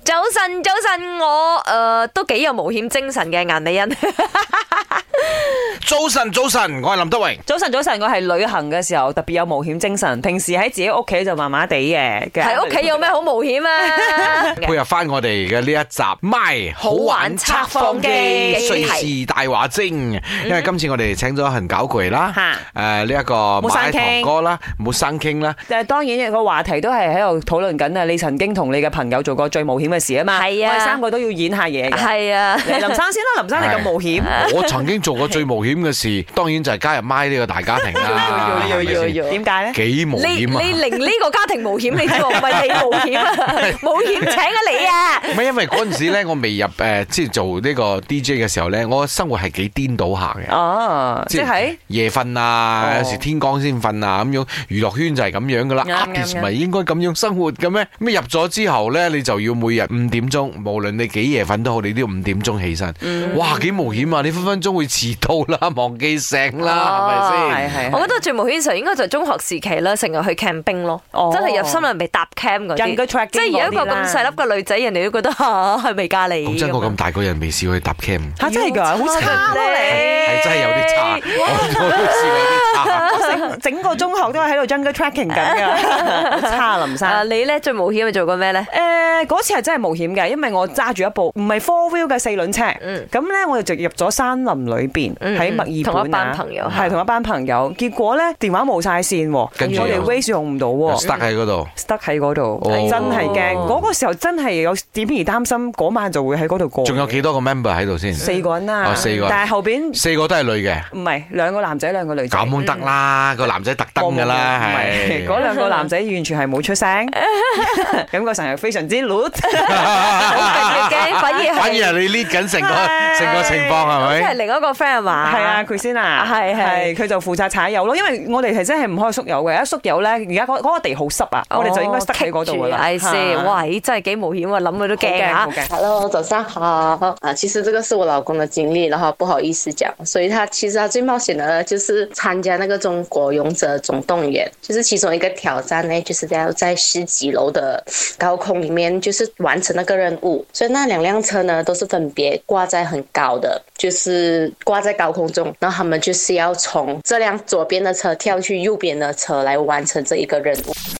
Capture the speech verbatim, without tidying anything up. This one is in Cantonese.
早晨，早晨，我誒、呃、都幾有冒險精神嘅顏美欣。 早晨，早晨，我係林德榮。 早晨，早晨，我係旅行嘅時候特別有冒險精神，平時喺自己屋企就麻麻地嘅。 喺屋企有咩好冒險啊？ 配合翻我哋嘅呢一集，My 好玩測謊機，瑞士大話精。因為今次我哋請咗恒搞攰啦，誒呢一個馬堂哥啦，冇生傾啦。 誒當然個話題都係喺度討論緊啊！你曾經同你嘅朋友做過最冒險嘅事啊嘛。係啊，我哋三個都要演下嘢嘅。係啊，林生先啦，林生你咁冒險。 我曾經做過最冒險嘅事，當然就係加入 My 呢個大家庭啦。 點解咧？ 幾冒險啊！ 你令呢個家庭冒險，你知喎，唔係你冒險啊！冒險請啊你啊！ 唔係因為嗰陣時咧，我未入誒，即係做呢個 D J 嘅時候咧，我生活係幾顛倒下嘅。哦，即係夜瞓啊，有時天光先瞓啊，咁樣娛樂圈就係咁樣噶啦。artist 咪應該咁樣生活嘅咩？咁入咗之後咧，你就要每日五點鐘，無論你幾夜瞓都好，你都要五點鐘起身。哇，幾冒險啊！你分分鐘會遲到啦，忘記醒啦，係咪先？ 係係。我覺得最冒險嘅時候應該就係中學時期啦，成日去 camping 咯，真係入森林未搭 camp 嗰啲。即係有一個咁細粒嘅女仔，人哋都覺得嚇係未嫁你。 講真，我咁大個人未試過去搭 camp。 嚇真係㗎，好差咧！ 係真係有啲差，我都試過有啲差。 整整個中學都係喺度 jungle tracking 緊㗎，好差林生。 你咧最冒險係做過咩咧？ 誒嗰次係真係冒險嘅，因為我揸住一部唔係 four wheel 嘅四輪車，咁咧我哋就入咗山林裏邊喺墨爾本啊， 同一班朋友係同一班朋友，結果咧電話冇晒線，跟住我哋 Waze 用唔到 ，stuck 喺嗰度 ，stuck 喺嗰度，真係驚。嗰個時候真係有點而擔心，嗰晚就會喺嗰度過。 仲有幾多個 member 喺度先？ 四個人啦， 四個， 但係後邊四個都係女嘅， 唔係兩個男仔兩個女仔。 咁得啦，個男仔特登㗎啦，係嗰兩個男仔完全係冇出聲，感覺上係非常之 loud， 好驚，反而反而係你 lead 緊成個成個情況係咪？ 即係另一個 friend 係嘛？ 係啊，佢先啊，係係佢就負責踩油咯，因為我哋係真係唔可以縮油嘅，一縮油咧，而家嗰嗰個地好濕啊，我哋就應該塞喺嗰度㗎啦。 係先，哇！真係幾冒險啊，諗佢都驚啊。 Hello， 早上好啊，其實這個是我老公的經歷，然後不好意思講，所以他其實他最冒險的，就是參加那個中國勇者總動員，就是其中一個挑戰呢，就是要在十幾樓的高空裡面，就是完成那個任務。所以那兩輛車呢，都是分別掛在很高的，就是掛在高空中，然後他們就是要從這輛左邊的車跳去右邊的車來完成這一個任務。